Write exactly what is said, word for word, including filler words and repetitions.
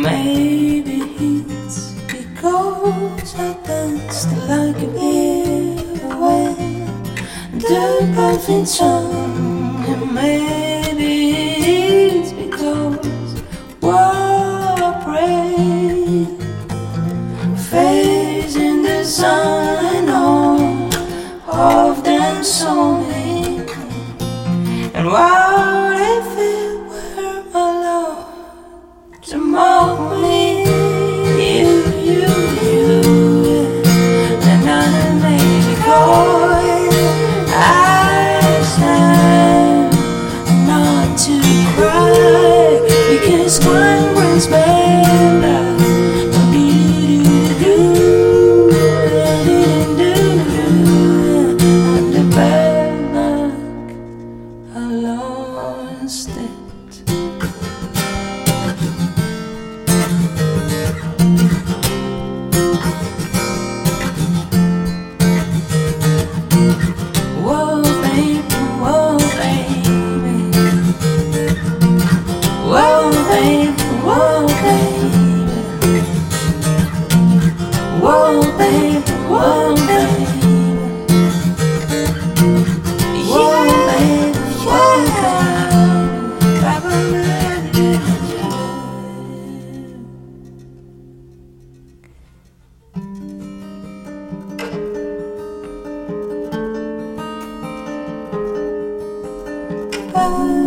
Maybe it's because I danced like a pirouette, the perfect song. And maybe it's because what I pray, facing the sun and all of them saw me. And what if it were my love to mock me? You, you, you, and I may call I stand not to cry, because crying brings bad luck. And the bad luck, I lost it. Whoa, baby, whoa, baby. Whoa, baby, whoa, baby. Whoa, baby, whoa, baby. Whoa, baby, whoa, baby.